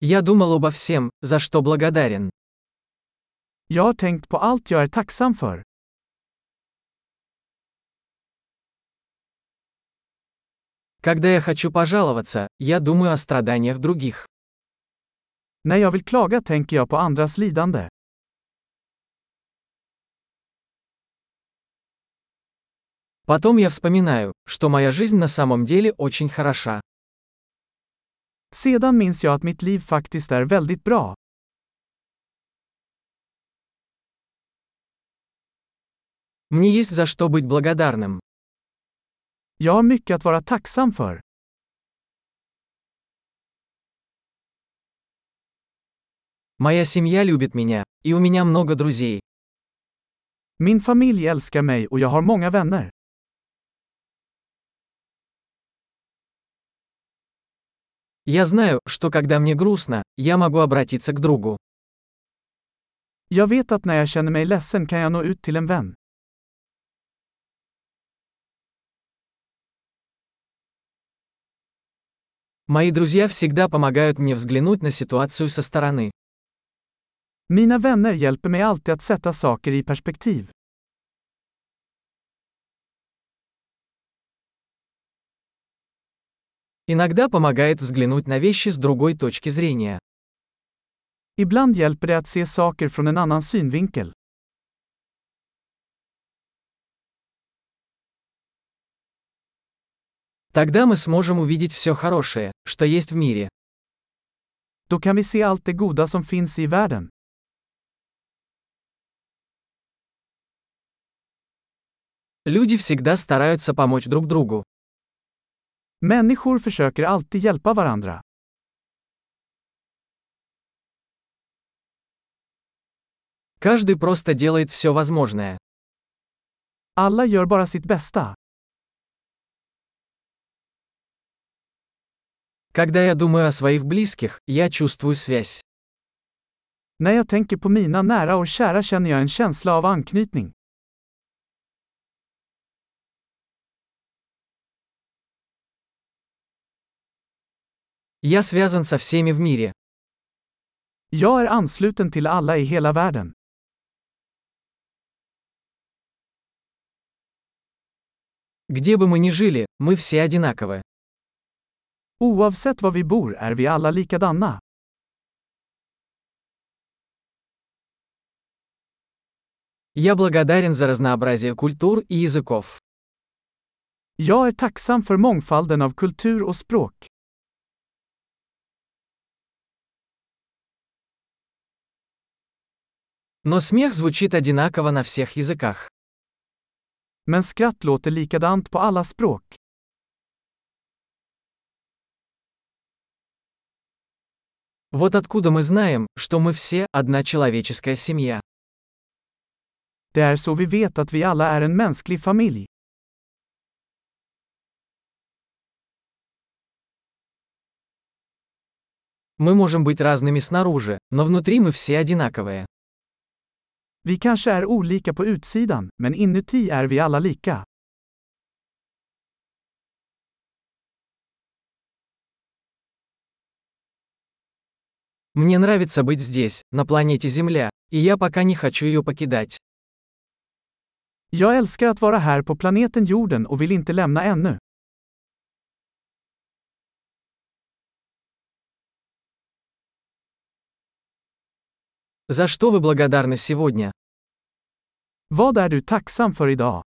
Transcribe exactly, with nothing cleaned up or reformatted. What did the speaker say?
Я думал обо всем, за что благодарен. Jag har tänkt på allt jag är tacksam för. Когда я хочу пожаловаться, я думаю о страданиях других. När jag vill klaga tänker jag på andras lidande. Потом я вспоминаю, что моя жизнь на самом деле очень хороша. Sedan minns jag att mitt liv faktiskt är väldigt bra. Мне есть за что быть благодарным. Jag har mycket att vara tacksam för. Моя семья любит меня, и у меня много друзей. Min familj älskar mig och jag har många vänner. Я знаю, что когда мне грустно, я могу обратиться к другу. Jag vet att när jag känner mig ledsen kan jag nå ut till en vän. Мои друзья всегда помогают мне взглянуть на ситуацию со стороны. Mina vänner hjälper mig alltid att sätta saker i perspektiv. Иногда помогает взглянуть на вещи с другой точки зрения. Ibland hjälper det att se saker från en annan synvinkel. Тогда мы сможем увидеть все хорошее, что есть в мире. Då kan vi se allt det goda som finns i världen. Люди всегда стараются помочь друг другу. Människor försöker alltid hjälpa varandra. Каждый просто делает все возможное. Alla gör bara sitt bästa. Когда я думаю о своих близких, я чувствую связь. När jag tänker på mina nära och kära känner jag en känsla av anknytning. Я связан со всеми в мире. Jag är ansluten till alla i hela världen. Где бы мы ни жили, мы все одинаковы. Oavsett var vi bor är vi alla likadana. Я благодарен за разнообразие культур и языков. Jag är tacksam för mångfalden av kultur och språk. Но смех звучит одинаково на всех языках. Men skratt låter likadant på alla språk. Вот откуда мы знаем, что мы все одна человеческая семья. Det är så vi vet att vi alla är en mänsklig familj. Мы можем быть разными снаружи, но внутри мы все одинаковые. Vi kanske är olika på utsidan, men inuti är vi alla lika. Мне нравится быть здесь, на планете Земля, и я пока не хочу ее покидать. Jag älskar att vara här på planeten jorden och vill inte lämna ännu. За что вы благодарны сегодня? Vad är du tacksam för idag?